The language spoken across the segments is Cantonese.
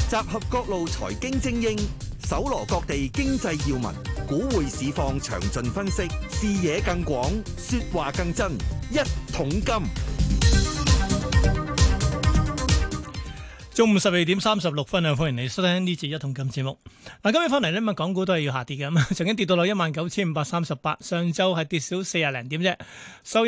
集合各路財經精英，搜羅各地經濟要聞，股匯市況詳盡分析，視野更廣，說話更真。一桶金， 中午12:36啊！歡迎你收聽呢節一桶金節目。嗱，今日翻嚟呢，港股都係要下跌嘅，咁曾經跌到落19,538，上週係跌少40零點啫，收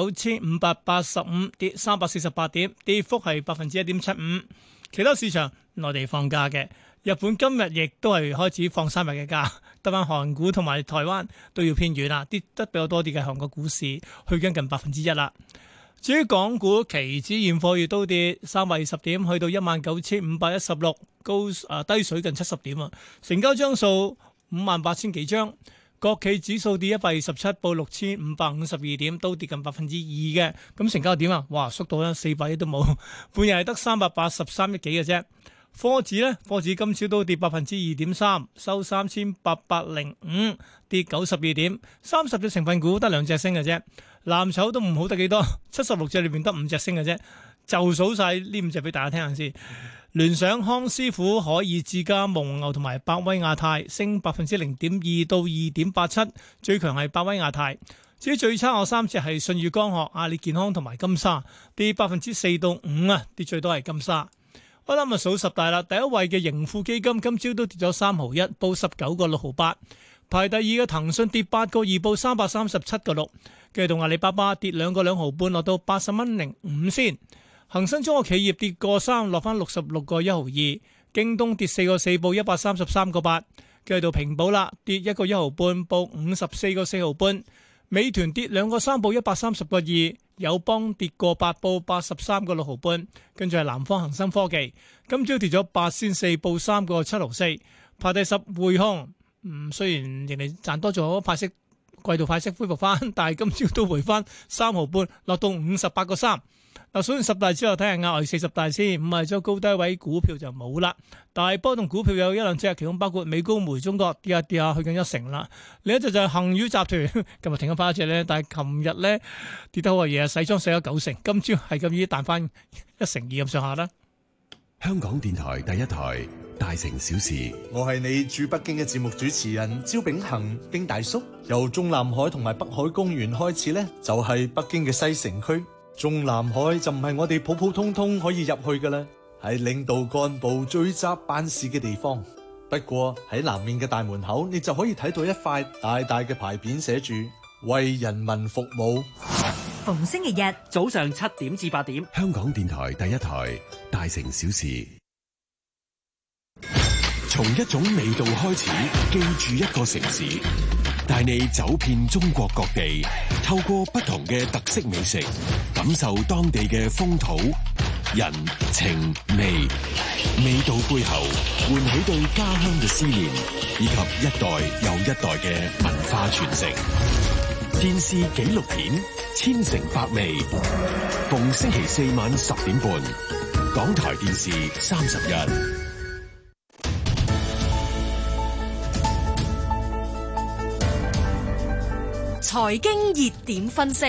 19,585，跌348點，跌幅係1.75%。其他市場內地放假嘅，日本今日亦都係開始放3日嘅假，得翻韓股同埋台灣都要偏軟啦，跌得比較多啲嘅韓國股市去緊近1%啦。至於港股期指現貨月都跌320點，去到19,516，低水近70點啊，成交張數58,000幾張。國企指數跌127，報6,552點，都跌近2%嘅。咁成交點啊，哇，縮到咧400億都冇，半日係得383億幾嘅啫。科指咧，科指今朝都跌2.3%，收3,805，跌92點。30隻成分股得2隻升嘅啫，藍籌都唔好得幾多，76隻裏邊得5隻升嘅啫。就數晒呢5隻俾大家聽下先。聯想、康師傅、海爾智家、蒙牛同埋百威亞太升0.2%到2.87%，最強係百威亞太。至於最差我3隻係舜宇光學、阿里健康同埋金沙，跌4%到5%啊，跌最多係金沙。我諗數十大啦，第一位嘅盈富基金今朝都跌咗3毫1，報19個6毫8。排第二嘅騰訊跌8個2，報337個6。跟住到阿里巴巴跌2個2毫半，落到80蚊05先。恒生中國企業跌個3，落翻66個1毫2。京東跌4個4，報133個8。跟住到平保啦，跌1個1毫半，報54個4毫半。美團跌2個3，報130個2。友邦跌個8，報83個6毫半。跟住係南方恒生科技，今朝跌咗8先4，報3個7毫4。排第10匯控，雖然人哋賺多咗派息，季度派息恢復翻，但係今朝都回翻3毫半，落到58個3。嗱，數完10大之後，睇下額外40大先，唔係咗高低位股票就冇啦。大波動股票有1兩隻，其中包括美高梅中國跌下跌下去緊1成啦。另一隻就係恒宇集團，今日停咗翻一隻咧，但係琴日咧跌得好嘅嘢，洗裝洗咗9成，今朝係咁依彈翻1成2咁上下啦。 香港電台第一台大城小事， 我係你駐北京嘅節目主持人招炳恒，丁大叔。由中南海同埋北海公園開始呢，就係北京嘅西城區。中南海就唔係我哋普普通通可以入去嘅啦，係領導幹部聚集辦事嘅地方。不過喺南面嘅大門口，你就可以睇到一塊大大嘅牌匾，寫住為人民服務。 逢星期日早上7點至8點， 香港電台第一台大城小事。從一種味道開始，記住一個城市，帶你走遍中國各地，透過不同嘅特色美食，感受當地嘅風土人情味。味道背後喚起對家鄉嘅思念，以及一代又一代嘅文化傳承。電視紀錄片《千城百味》，逢星期4晚10點半，港台電視31。 財經熱點分析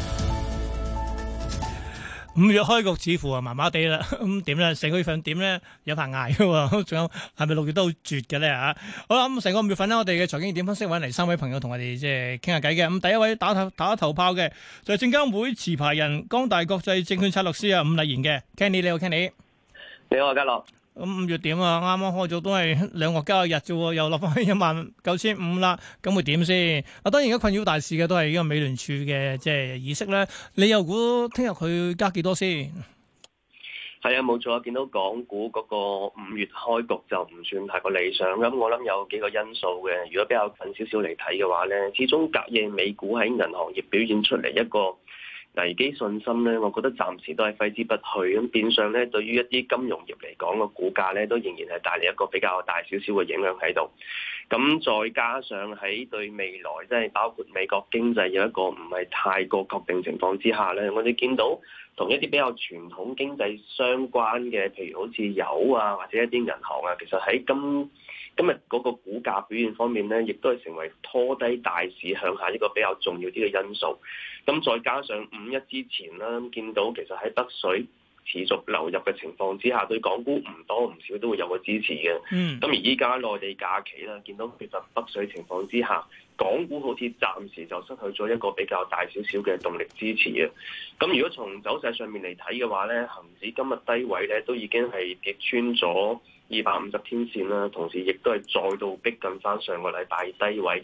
，5月開局似乎啊麻麻地啦，咁點咧？成個月份點咧？有排捱嘅喎，仲有係咪6月都好絕嘅咧嚇？好啦，咁成個5月份咧，我哋嘅財經熱點分析揾嚟3位朋友同我哋即係傾下偈嘅。咁第一位打頭炮嘅就係證監會持牌人光大國際證券策略師啊伍禮賢嘅 Kenny， 你好 Kenny。 你好啊，嘉樂。 咁5月點啊？啱啱開咗都係2個交易日啫，又落翻去19,500啦，咁會點先？啊，當然而家困擾大市嘅都係呢個美聯儲嘅即係議息咧。你又估聽日佢加幾多先？ 係啊，冇錯啊！見到港股嗰個5月開局就唔算太過理想，咁我諗有幾個因素嘅。如果比較近少少嚟睇嘅話咧，始終隔夜美股喺銀行業表現出嚟一個危機信心咧，我覺得暫時都係揮之不去。咁變相咧，對於一啲金融業嚟講個股價咧，都仍然係帶嚟一個比較大少少嘅影響喺度。咁再加上喺對未來，即係包括美國經濟有一個唔係太過確定情況之下咧，我哋見到同一啲比較傳統經濟相關嘅，譬如好似油啊，或者一啲銀行啊，其實喺今日嗰個股價表現方面咧，亦都係成為拖低大市向下一個比較重要啲嘅因素。咁再加上5-1之前啦，見到其實喺北水持續流入嘅情況之下，對港股唔多唔少都會有個支持嘅。咁而依家內地假期啦，見到缺乏北水情況之下，港股好似暫時就失去咗一個比較大少少嘅動力支持嘅。咁如果從走勢上面嚟睇嘅話咧，恆指今日低位咧都已經係跌穿咗250天線啦，同時亦都係再度逼近翻上個禮拜低位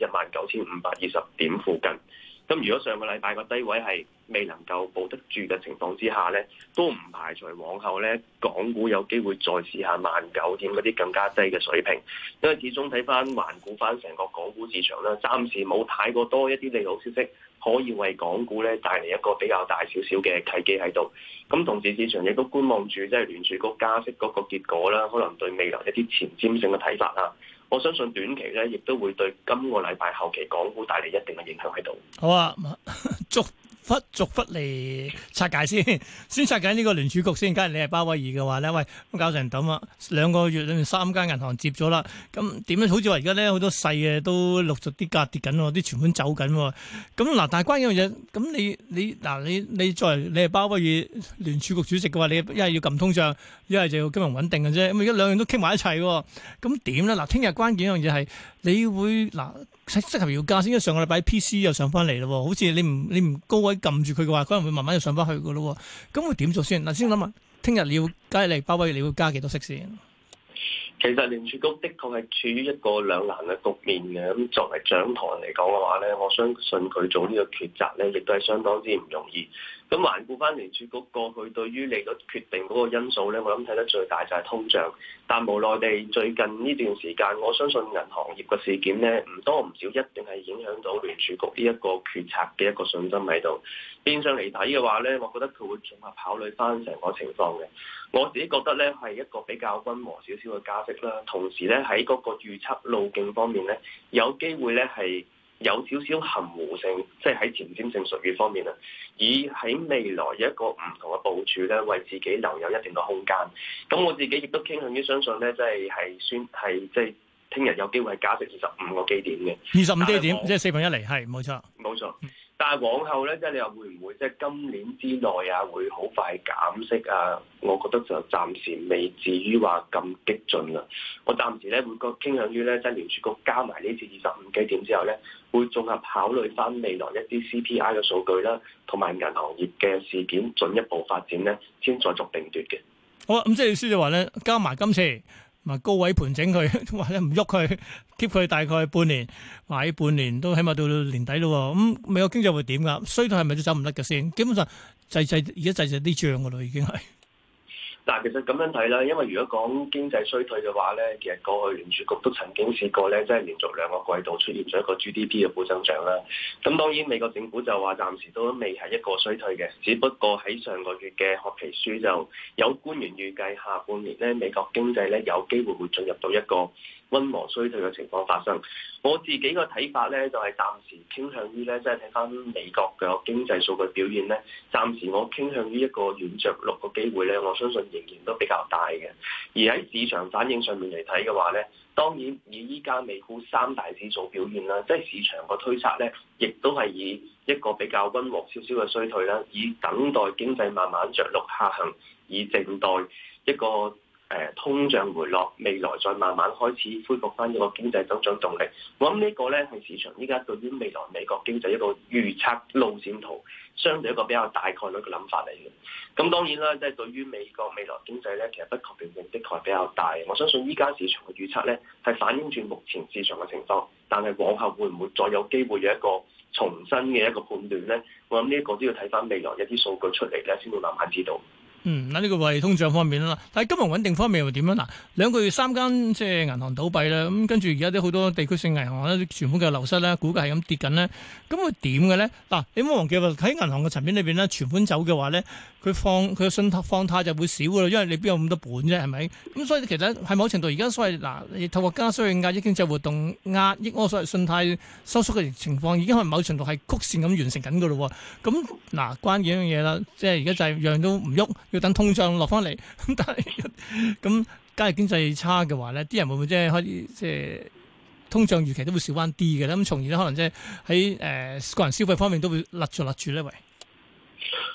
19,520點附近。咁如果上個禮拜個低位係未能夠保得住嘅情況之下咧，都唔排除往後咧港股有機會再試下19,000點嗰啲更加低嘅水平，因為始終睇翻環顧翻成個港股市場啦，暫時冇太過多一啲利好消息可以為港股咧帶嚟一個比較大少少嘅契機喺度。咁同時市場亦都觀望住即係聯儲局加息嗰個結果啦，可能對未來一啲前瞻性嘅睇法啊。我相信短期咧，亦都會對今個禮拜後期港股帶嚟一定嘅影響喺度。 好啊，逐忽嚟拆解先拆解呢個聯儲局先。假如你係鮑威爾嘅話咧，喂，咁搞成咁啊，2個月裏面3間銀行接咗啦，咁點樣？好似話而家咧好多細嘅都陸續啲價跌緊喎，啲存款走緊喎。咁嗱，但係關鍵一樣嘢，咁你作為你係鮑威爾聯儲局主席嘅話，你一係要撳通脹，一係就要金融穩定嘅啫。咁而家兩樣都傾埋一齊喎，咁點咧？嗱，聽日關鍵一樣嘢係你會適合要加先，因為上個禮拜 PC 又上翻嚟咯，好似你唔高位撳住佢嘅話，可能會慢慢又上翻去嘅咯。咁會點做先？嗱，先諗下，聽日你要加嚟鮑威爾，你會加幾多息先？ 其實聯儲局的確係處於一個兩難嘅局面嘅。咁作為掌舵人嚟講嘅話咧，我相信佢做呢個抉擇咧，亦都係相當之唔容易。咁環顧翻聯儲局過去對於利率決定嗰個因素咧，我諗睇得最大就係通脹。但無奈地最近呢段時間，我相信銀行業嘅事件咧，唔多唔少一定係影響到聯儲局呢一個決策嘅一個信心喺度。變相嚟睇嘅話咧，我覺得佢會綜合考慮翻成個情況嘅。我自己覺得咧係一個比較溫和少少嘅加息啦，同時咧喺嗰個預測路徑方面咧，有機會咧係有少少含糊性，即係喺前瞻性術語方面啊，以喺未來有一個唔同嘅部署咧，為自己留有一定嘅空間。咁我自己亦都傾向於相信咧，即係聽日有機會係加息25個基點嘅 ，25基點，即係4分1厘，係冇錯， 冇錯。但係往後咧，即係你話會唔會即係今年之內啊，會好快減息啊？我覺得就暫時未至於話咁激進啦。我暫時咧會傾向於咧，即係聯儲局加埋呢次25基點之後咧，會綜合考慮翻未來一啲 CPI 嘅數據啦，同埋銀行業嘅事件進一步發展咧，先再作定奪嘅。 好啊，咁即係意思就話咧，加埋今次。高位盤整佢，或者唔喐佢 keep 佢大概半年，買半年都起碼到年底咯。咁美國經濟會點噶？衰退係咪都走唔甩嘅先？基本上而家滯啲漲噶咯，已經係。 但係其實咁樣睇啦，因為如果講經濟衰退嘅話咧，其實過去聯儲局都曾經試過咧，即係連續2個季度出現咗一個 GDP 嘅負增長啦。咁當然美國政府就話暫時都未係一個衰退嘅，只不過喺上個月嘅褐皮書就有官員預計下半年咧美國經濟咧有機會會進入到一個溫和衰退嘅情況發生。我自己個睇法咧就係暫時傾向於咧，即係睇翻美國嘅經濟數據表現咧，暫時我傾向於一個軟着陸嘅機會咧，我相信仍然都比較大嘅。而喺市場反應上面嚟睇嘅話咧，當然以依家美股3大指數表現啦，即係市場個推測咧，亦都係以一個比較溫和少少嘅衰退啦，以等待經濟慢慢着陸下行，以靜待一個通脹回落，未來再慢慢開始恢復翻一個經濟增長動力。我諗呢個咧係市場依家對於未來美國經濟一個預測路線圖，相對一個比較大概率嘅諗法嚟嘅。咁當然啦，即係對於美國未來經濟咧，其實不確定性的確係比較大。我相信依家市場嘅預測咧係反映住目前市場嘅情況，但係往後會唔會再有機會有一個重新嘅一個判斷咧？我諗呢一個都要睇翻未來一啲數據出嚟咧，先會慢慢知道。 嗱呢個係通脹方面啦，但係金融穩定方面又點樣？嗱，2個月3間即係銀行倒閉啦，咁跟住而家啲好多地區性銀行咧，存款嘅流失咧，估計係咁跌緊咧，咁會點嘅咧？嗱，你唔好忘記喺銀行嘅層面裏邊咧，存款走嘅話咧，佢嘅信貸放貸就會少噶啦，因為你邊有咁多本啫，係咪？咁所以其實喺某程度而家所謂你透過加息去壓抑經濟活動，壓抑我所謂信貸收縮嘅情況，已經係某程度係曲線咁完成緊噶咯。咁嗱，關鍵一樣嘢啦，即係而家就係樣都唔喐。要等通脹落翻嚟，咁但係咁，假如經濟差嘅話咧，啲人會唔會即係開始即係通脹預期都會少翻啲嘅咧？咁從而咧，可能即係喺個人消費方面都會勒住咧，喂。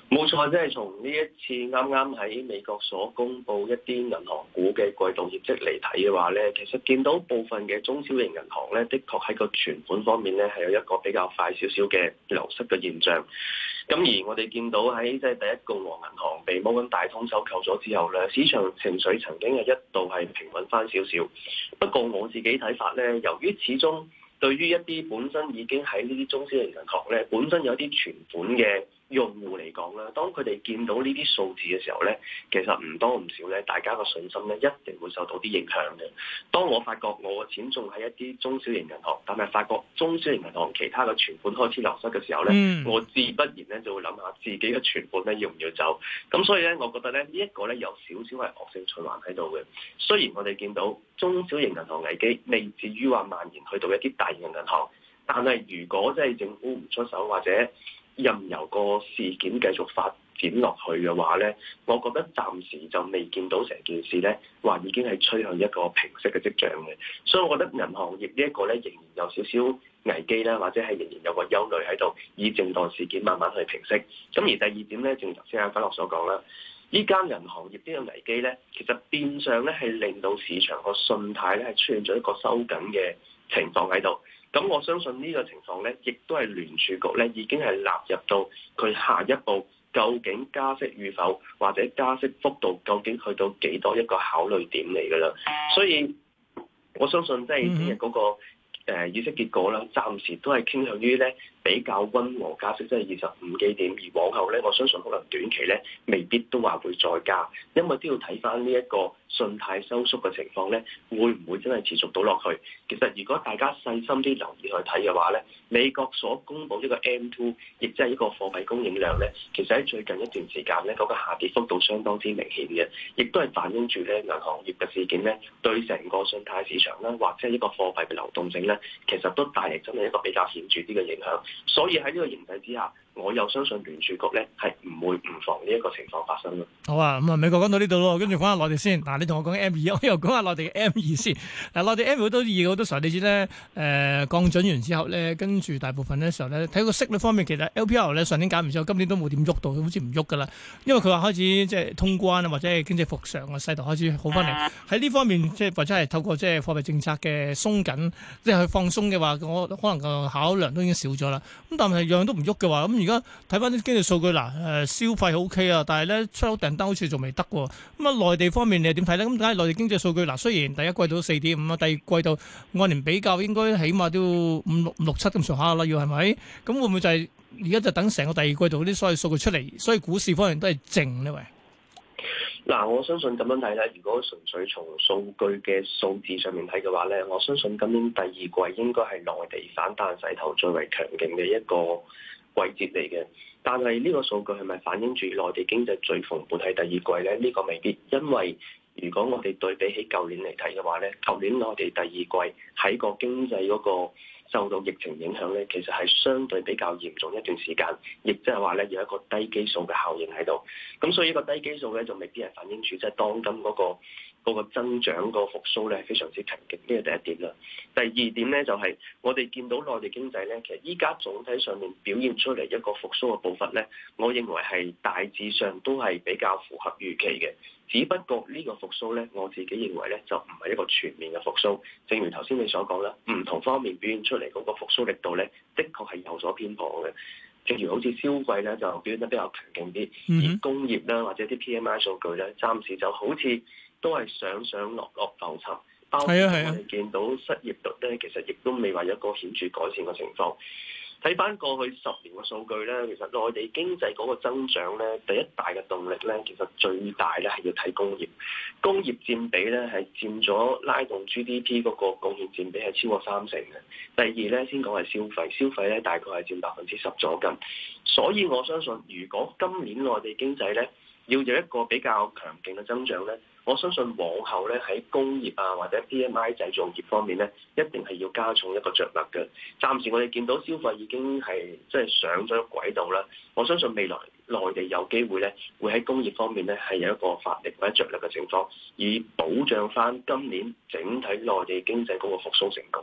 冇錯，即係從呢一次啱啱喺美國所公布一啲銀行股嘅季度業績嚟睇嘅話咧，其實見到部分嘅中小型銀行咧，的確喺個存款方面咧係有一個比較快少少嘅流失嘅現象。咁而我哋見到喺即係第一共和銀行被摩根大通收購咗之後咧，市場情緒曾經係一度係平穩翻少少。不過我自己睇法咧，由於始終對於一啲本身已經喺呢啲中小型銀行咧，本身有啲存款嘅用戶嚟講啦，當佢哋見到呢啲數字嘅時候咧，其實唔多唔少咧，大家個信心咧一定會受到啲影響嘅。當我發覺我嘅錢仲喺一啲中小型銀行，但係發覺中小型銀行其他嘅存款開始流失嘅時候咧，我自不然咧就會諗下自己嘅存款咧要唔要走。咁所以咧，我覺得咧呢一個咧有少少係惡性循環喺度嘅。雖然我哋見到中小型銀行危機未至於話蔓延去到一啲大型銀行，但係如果即係政府唔出手或者任由個事件繼續發展落去嘅話咧，我覺得暫時就未見到成件事咧話已經係趨向一個平息嘅跡象嘅，所以我覺得銀行業呢一個咧仍然有少少危機啦，或者係仍然有個憂慮喺度，以靜待事件慢慢去平息。咁而第二點咧，正如頭先阿家樂所講啦，依間銀行業呢個危機咧，其實變相咧係令到市場個信貸咧係出現咗一個收緊嘅情況喺度。咁我相信呢個情況咧，亦都係聯儲局咧已經係納入到佢下一步究竟加息與否，或者加息幅度究竟去到幾多一個考慮點嚟㗎啦。所以我相信即係聽日嗰個議息結果啦，暫時都係傾向於咧比較溫和加息，即係25基點。而往後咧，我相信可能短期咧未必都話會再加，因為都要睇翻呢一個信貸收縮嘅情況咧，會唔會真係持續到落去？其實如果大家細心啲留意去睇嘅話咧，美國所公布呢個 M2，亦即係一個貨幣供應量咧，其實喺最近一段時間咧，嗰個下跌幅度相當之明顯嘅，亦都係反映住咧銀行業嘅事件咧，對成個信貸市場啦，或者係一個貨幣嘅流動性咧，其實都帶嚟真係一個比較顯著啲嘅影響。所以喺呢個形勢之下，我又相信聯儲局咧係唔會唔防呢一個情況發生咯。 好啊，咁啊美國講到呢度咯，跟住講下內地先。嗱，你同我講 M2，我又講下內地嘅 M2先。嗱，內地 M2 好多嘢好多時候，你知咧，降準完之後咧，跟住大部分咧時候咧，睇個息率方面，其實 LPR 咧上年減完之後，今年都冇點喐到，好似唔喐噶啦。因為佢話開始即係通關啊，或者係經濟復常嘅勢頭開始好翻嚟。喺呢方面，即係或者係透過即係貨幣政策嘅鬆緊，即係去放鬆嘅話，我可能個考量都已經少咗啦。咁但係樣樣都唔喐嘅話，咁而家睇翻啲經濟數據嗱，消費 OK 啊，但係咧出口訂單好似仲未得喎。咁啊，內地方面你係點睇咧？咁梗係內地經濟數據嗱，雖然第一季度4.5啊，第二季度按年比較應該起碼都要5、6、7咁上下啦，要係咪？咁會唔會就係而家就等成個第二季度啲所謂數據出嚟，所以股市方面都係靜呢？喂， 嗱，我相信咁樣睇咧，如果純粹從數據嘅數字上面睇嘅話咧，我相信今年第二季應該係內地反彈勢頭最為強勁嘅一個季節嚟嘅。但係呢個數據係咪反映住內地經濟最蓬勃喺第二季咧？呢個未必，因為如果我哋對比起舊年嚟睇嘅話咧，舊年內地第二季喺個經濟嗰個受到疫情影響咧，其實係相對比較嚴重一段時間，亦即係話咧有一個低基數嘅效應喺度。咁所以呢個低基數咧就未必係反映住即係當今嗰個增長個復甦咧係非常之強勁，呢個第一點啦。第二點咧就係我哋見到內地經濟咧，其實依家總體上面表現出嚟一個復甦嘅步伐咧，我認為係大致上都係比較符合預期嘅。只不過呢個復甦咧，我自己認為咧就唔係一個全面嘅復甦。正如頭先你所講啦，唔同方面表現出嚟嗰個復甦力度咧，的確係有所偏頗嘅。正如好似消費咧就表現得比較強勁啲，而工業啦或者啲 PMI 數據咧，暫時就好似都係上落浮沉。包括我哋見到失業率咧，其實亦都未話有一個顯著改善嘅情況。睇翻過去10年嘅數據咧，其實內地經濟嗰個增長咧，第一大嘅動力咧，其實最大咧係要睇工業。工業佔比咧係佔咗拉動 GDP 嗰個貢獻佔比係超過30%嘅。第二咧先講係消費，消費咧大概係佔10%左近。所以我相信，如果今年內地經濟咧要有一個比較強勁嘅增長咧，我相信往後咧喺工業啊或者 PMI 製造業方面咧，一定係要加重一個着力嘅。暫時我哋見到消費已經係即係上咗軌道啦。我相信未來內地有機會咧，會喺工業方面咧係有一個發力或者着力嘅情況，以保障翻今年整體內地經濟嗰個復甦成果。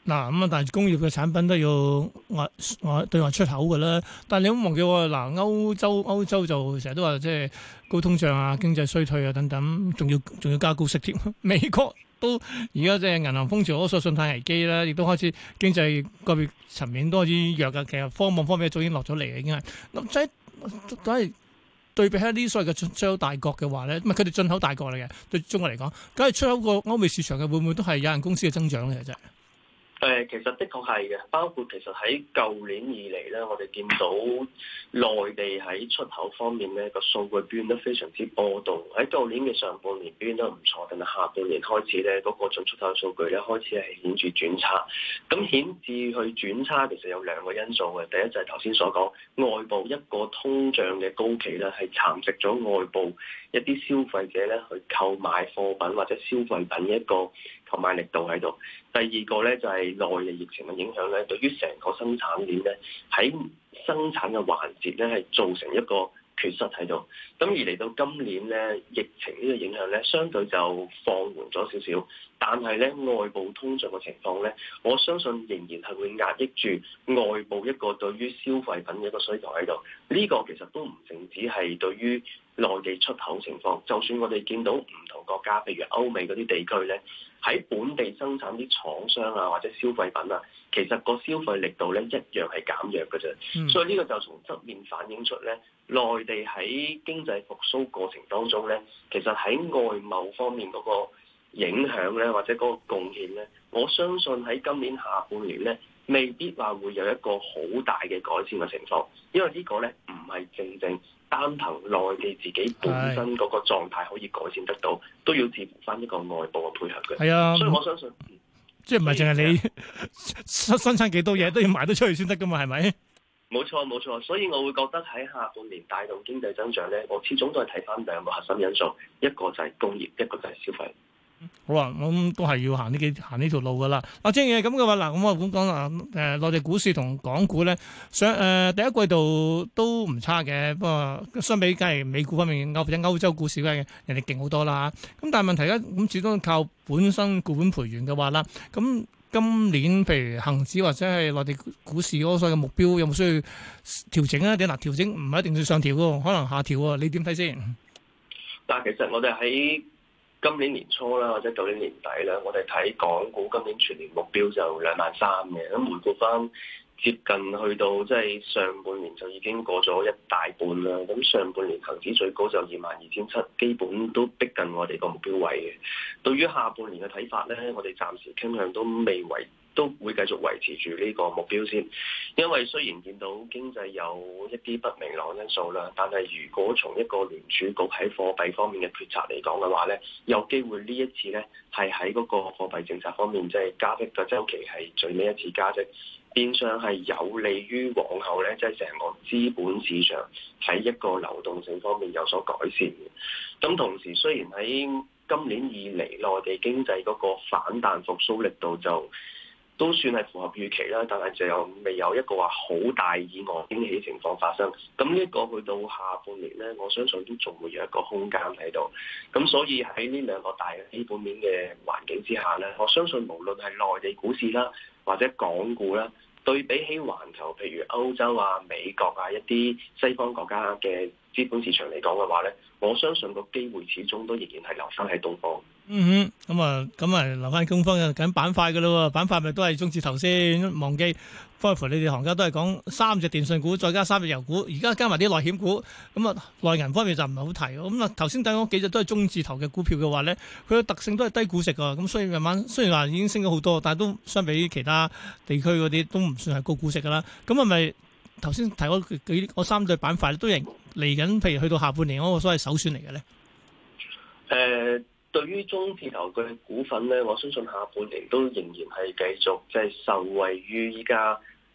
嗱咁啊，但係工業嘅產品都要對外出口嘅啦。但係你唔好忘記喎，嗱歐洲就成日都話即係高通脹啊、經濟衰退啊等等，仲要加高息添。美國都而家即係銀行風潮，嗰個信貸危機啦，亦都開始經濟個別層面都開始弱嘅。其實科網方面早已經落咗嚟嘅，已經係咁即係都係。對比起呢啲所謂嘅出口大國嘅話咧，唔係佢哋進口大國嚟嘅，對中國嚟講，梗係出口過歐美市場嘅，會唔會都係有限公司嘅增長咧？其實其實的確係嘅，包括其實喺舊年以嚟咧，我哋見到內地喺出口方面咧個數據變得非常之波動。喺舊年嘅上半年變得唔錯，但係下半年開始咧，嗰個進出口數據咧開始係顯著轉差。咁顯著去轉差，其實有兩個因素嘅。第一就係頭先所講，外部一個通脹嘅高企咧，係蠶食咗外部一啲消費者咧去購買貨品或者消費品嘅一個購買力度喺度。第二個咧就係內地疫情嘅影響咧，對於成個生產鏈咧喺生產嘅環節咧係造成一個缺失喺度。咁而嚟到今年咧，疫情呢個影響咧相對就放緩咗少少，但係咧外部通脹嘅情況咧，我相信仍然係會壓抑住外部一個對於消費品嘅一個需求喺度。呢個其實都唔淨止係對於內地出口情況，就算我哋見到唔同國家，譬如歐美嗰啲地區咧，喺本地生產啲廠商啊或者消費品啊，其實個消費力度咧一樣係減弱嘅啫。所以呢個就從側面反映出咧，內地喺經濟復甦過程當中咧，其實喺外貿方面嗰個影響咧，或者嗰個貢獻咧，我相信喺今年下半年咧，未必話會有一個好大嘅改善嘅情況，因為呢個咧唔係正單憑內地自己本身嗰個狀態可以改善得到，都要視乎翻一個外部嘅配合嘅。 係啊， 所以我相信， 即係唔係淨係你生產幾多嘢都要賣得出去先得噶嘛？係咪？ 冇錯，所以我會覺得喺下半年帶動經濟增長咧，我始終都係睇翻兩個核心因素，一個就係工業，一個就係消費。 好啊，咁都係要行呢條路噶啦。正係咁嘅話，嗱，咁我咁講啦，內地股市同港股咧，第一季度都唔差嘅，不過相比梗係美股方面，或者歐洲股市梗係人哋勁好多啦。咁但係問題咧，咁始終靠本身固本培元嘅話啦，咁今年譬如恒指或者係內地股市嗰個所謂嘅目標，有冇需要調整啊？定嗱調整唔係一定要上調喎，可能下調喎，你點睇先？ 但係其實我哋喺今年年初啦，或者舊年年底啦，我哋睇港股今年全年目標就23,000嘅。咁回顧翻接近去到即係上半年就已經過咗一大半啦。咁上半年恒指最高就22,700，基本都逼近我哋個目標位嘅。對於下半年嘅睇法咧，我哋暫時傾向都會繼續維持住呢個目標先，因為雖然見到經濟有一啲不明朗因素啦，但係如果從一個聯儲局喺貨幣方面嘅決策嚟講嘅話咧，有機會呢一次咧係喺嗰個貨幣政策方面，即係加息嘅週期係最尾一次加息，變相係有利於往後咧，即係成個資本市場喺一個流動性方面有所改善嘅。咁同時雖然喺今年以嚟內地經濟嗰個反彈復甦力度就都算係符合預期啦，但係就又未有一個話好大意外驚喜情況發生。咁呢個去到下半年咧，我相信都仲會有一個空間喺度。咁所以喺呢兩個大嘅基本面嘅環境之下咧，我相信無論係內地股市啦，或者港股啦，對比起環球，譬如歐洲啊、美國啊一啲西方國家嘅資本市場嚟講嘅話咧，我相信個機會始終都仍然係留翻喺東方。 咁啊，留翻東方嘅緊板塊嘅咯喎，板塊咪都係中字頭先，忘記。包括你哋行家都係講3隻電訊股，再加3隻油股，而家加埋啲內險股，咁啊內銀方面就唔係好提。咁啊頭先睇嗰幾隻都係中字頭嘅股票嘅話咧，佢嘅特性都係低估值㗎，咁所以慢慢雖然話已經升咗好多，但係都相比其他地區嗰啲都唔算係高估值㗎啦。咁係咪頭先提嗰3對板塊都嚟緊？譬如去到下半年嗰個所謂首選嚟嘅咧？ 對於中字頭嘅股份咧，我相信下半年都仍然係繼續即係受惠於依家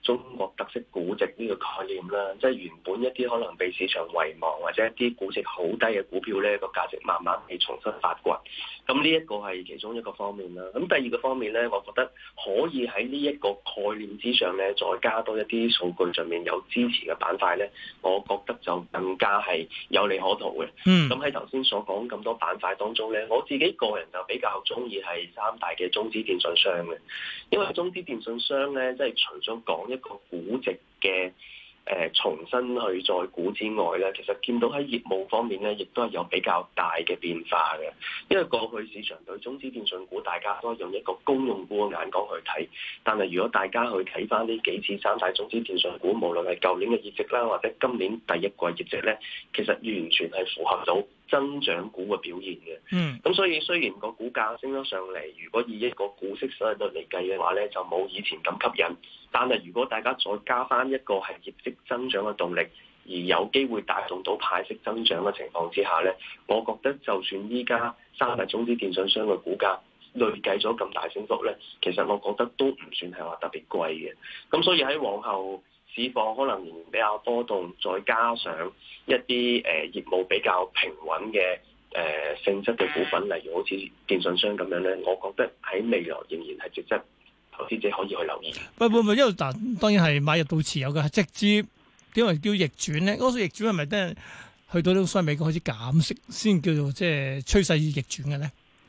中國特色估值呢個概念啦，即係原本一啲可能被市場遺忘或者一啲估值好低嘅股票咧，個價值慢慢被重新發掘。咁呢一個係其中一個方面啦。咁第二個方面咧，我覺得可以喺呢一個概念之上咧，再加多一啲數據上面有支持嘅板塊咧，我覺得就更加係有利可圖嘅。咁喺頭先所講咁多板塊當中咧，我自己個人就比較中意係三大嘅中資電信商嘅，因為中資電信商咧，即係除咗講一個估值嘅重新去再估之外咧，其實見到喺業務方面咧，亦都係有比較大嘅變化嘅。因為過去市場對中資電信股，大家都用一個公用股嘅眼光去睇，但係如果大家去睇翻呢幾次三大中資電信股，無論係舊年嘅業績啦，或者今年第一季業績咧，其實完全係符合到增長股嘅表現嘅。咁所以雖然個股價升咗上嚟，如果以一個股息收益率嚟計嘅話咧，就冇以前咁吸引。但係如果大家再加翻一個係業績增長嘅動力，而有機會帶動到派息增長嘅情況之下咧，我覺得就算依家三大中資電信商嘅股價累計咗咁大升幅咧，其實我覺得都唔算係話特別貴嘅。咁所以喺往後市況可能仍然比較波動，再加上一啲業務比較平穩嘅性質嘅股份，例如好似電信商咁樣咧，我覺得喺未來仍然係值得投資者可以去留意。 唔，因為嗱，當然係買入到持有嘅，直接點為叫逆轉咧？嗰個逆轉係咪真係去到呢所謂美國開始減息先叫做即係趨勢逆轉嘅咧？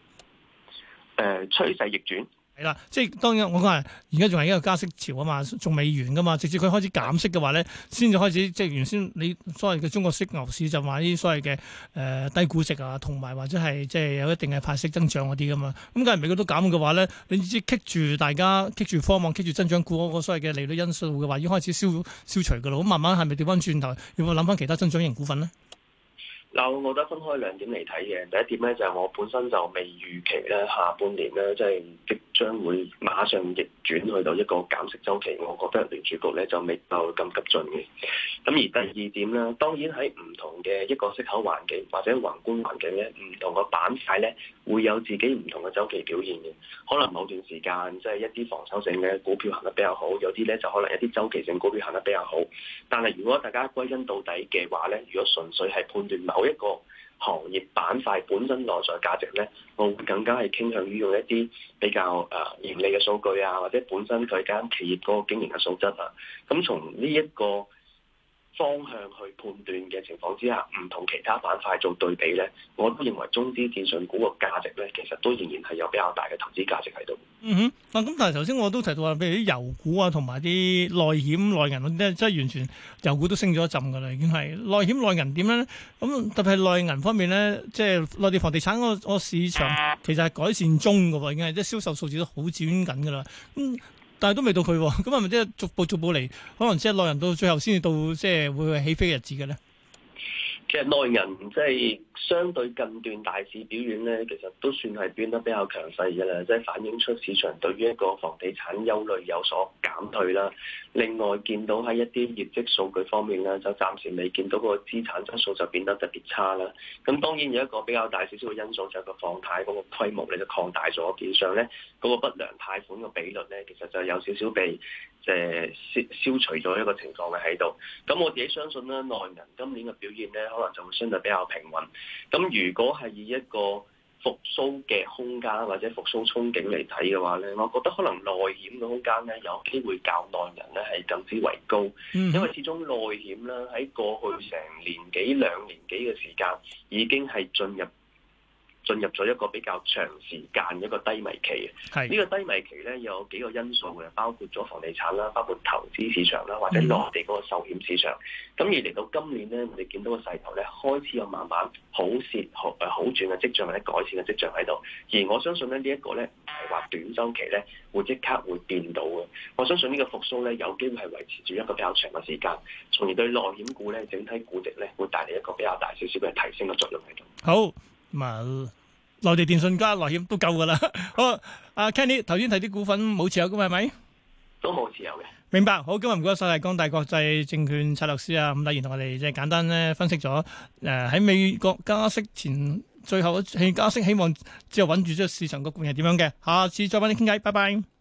趨勢逆轉。 係啦，即係當然我講係而家仲係一個加息潮啊嘛，仲未完噶嘛。直至佢開始減息嘅話咧，先至開始即係原先你所謂嘅中國式牛市就話呢啲所謂嘅低估值啊，同埋或者係即係有一定嘅派息增長嗰啲噶嘛。咁梗係美國都減嘅話咧，你知棘住大家棘住科網棘住增長股嗰個所謂嘅利率因素嘅話，已經開始消除噶啦。咁慢慢係咪調翻轉頭要諗翻其他增長型股份咧？ 嗱，我覺得分開兩點嚟睇嘅。第一點咧就係我本身就未預期咧下半年咧即係即將會馬上逆轉去到一個減息週期，我覺得聯儲局咧就未夠咁急進嘅。咁而第二點咧，當然喺唔同嘅一個息口環境或者宏觀環境咧，唔同嘅板塊咧會有自己唔同嘅週期表現嘅。可能某段時間即係一啲防守性嘅股票行得比較好，有啲咧就可能一啲週期性股票行得比較好。但係如果大家歸根到底嘅話咧，如果純粹係判斷某一個行業板塊本身內在價值咧，我會更加係傾向於用一啲比較盈利嘅數據啊，或者本身佢間企業嗰個經營嘅素質啊，咁從呢一個方向去判斷嘅情況之下，唔同其他板塊做對比咧，我都認為中資電信股個價值咧，其實都仍然係有比較大嘅投資價值喺度。 咁但係頭先我都提到話，譬如啲油股啊，同埋啲內險內銀嗰啲，即係完全油股都升咗一陣噶啦，已經係內險內銀點樣咧？咁特別係內銀方面咧，即係內地房地產嗰個市場其實係改善中噶喎，已經係即係銷售數字都好轉緊噶啦。但係都未到佢，咁係咪即係逐步嚟？可能即係內銀到最後先至到即係會起飛嘅日子嘅咧？ 其實內銀即係相對近段大市表現咧，其實都算係變得比較強勢嘅啦，即係反映出市場對於一個房地產憂慮有所減退啦。另外見到喺一啲業績數據方面咧，就暫時未見到個資產質素就變得特別差啦。咁當然有一個比較大少少嘅因素就係個放貸嗰個規模咧就擴大咗，變相咧嗰個不良貸款嘅比率咧，其實就有少少被消除咗一個情況嘅喺度。咁我自己相信咧，內銀今年嘅表現咧，可能就會相對比較平穩。咁如果係以一個復甦嘅空間或者復甦憧憬嚟睇嘅話咧，我覺得可能內險嘅空間咧有機會較內銀咧係更之為高，因為始終內險咧喺過去成年幾兩年幾嘅時間已經係進入咗一個比較長時間一個低迷期嘅。呢個低迷期咧有幾個因素嘅，包括咗房地產啦，包括投資市場啦，或者內地嗰個壽險市場。咁而嚟到今年咧，我哋見到個勢頭咧開始有慢慢好轉嘅跡象或者改善嘅跡象喺度。而我相信咧呢一個咧唔係話短週期咧會即刻會變到嘅。我相信呢個復甦咧有機會係維持住一個比較長嘅時間，從而對內險股咧整體估值咧會帶嚟一個比較大少少嘅提升嘅作用喺度。 好。內地電信加內險都夠噶啦。好，阿 Kenny 頭先睇啲股份冇持有噶嘛，係咪？ 都冇持有嘅。明白。好，今日唔該晒係光大國際證券策略師啊，伍禮賢同我哋即係簡單咧分析咗喺美國加息前最後加息，希望之後穩住咗市場個局面係點樣嘅。下次再揾你傾偈，拜拜。